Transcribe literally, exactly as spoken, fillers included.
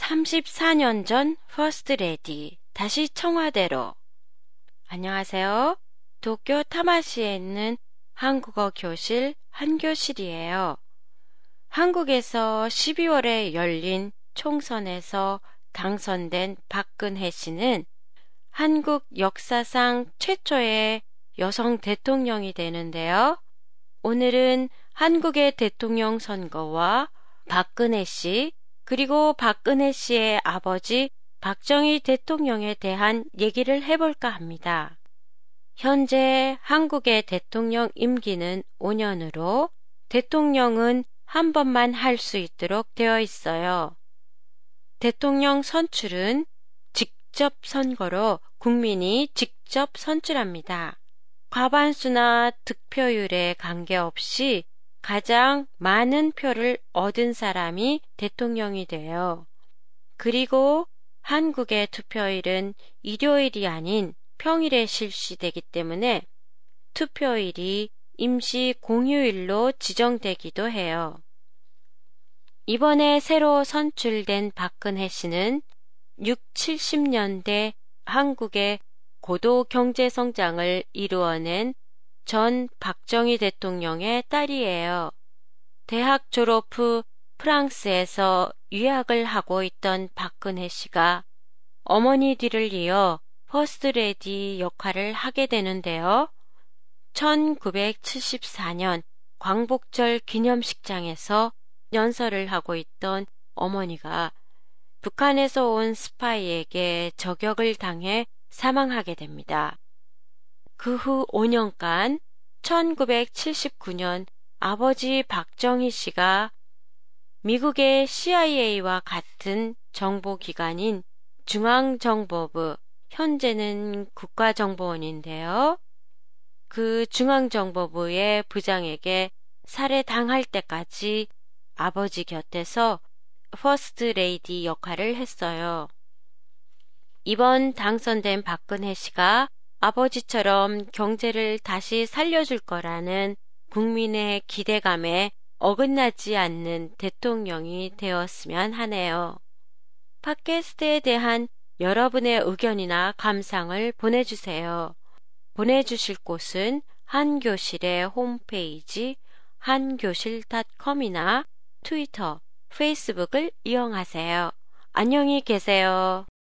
삼십사 년 전 퍼스트 레디, 다시 청와대로. 안녕하세요. 도쿄 타마시에 있는 한국어 교실 한교실이에요. 한국에서 십이월에 열린 총선에서 당선된 박근혜 씨는 한국 역사상 최초의 여성 대통령이 되는데요. 오늘은 한국의 대통령 선거와 박근혜 씨, 그리고 박근혜 씨의 아버지 박정희 대통령에 대한 얘기를 해볼까 합니다. 현재 한국의 대통령 임기는 오 년으로 대통령은 한 번만 할 수 있도록 되어 있어요. 대통령 선출은 직접 선거로 국민이 직접 선출합니다. 과반수나 득표율에 관계없이 가장 많은 표를 얻은 사람이 대통령이 돼요. 그리고 한국의 투표일은 일요일이 아닌 평일에 실시되기 때문에 투표일이 임시 공휴일로 지정되기도 해요. 이번에 새로 선출된 박근혜 씨는 육, 칠십 년대 한국의 고도 경제 성장을 이루어낸 전 박정희 대통령의 딸이에요. 대학 졸업 후 프랑스에서 유학을 하고 있던 박근혜 씨가 어머니 뒤를 이어 퍼스트 레디 역할을 하게 되는데요. 천구백칠십사 년 광복절 기념식장에서 연설을 하고 있던 어머니가 북한에서 온 스파이에게 저격을 당해 사망하게 됩니다. 그 후 오 년간 천구백칠십구 년 아버지 박정희 씨가 미국의 씨아이에이와 같은 정보기관인 중앙정보부, 현재는 국가정보원인데요. 그 중앙정보부의 부장에게 살해당할 때까지 아버지 곁에서 퍼스트 레이디 역할을 했어요. 이번 당선된 박근혜 씨가 아버지처럼 경제를 다시 살려줄 거라는 국민의 기대감에 어긋나지 않는 대통령이 되었으면 하네요. 팟캐스트에 대한 여러분의 의견이나 감상을 보내주세요. 보내주실 곳은 한교실의 홈페이지 한교실 닷컴이나 트위터, 페이스북을 이용하세요. 안녕히 계세요.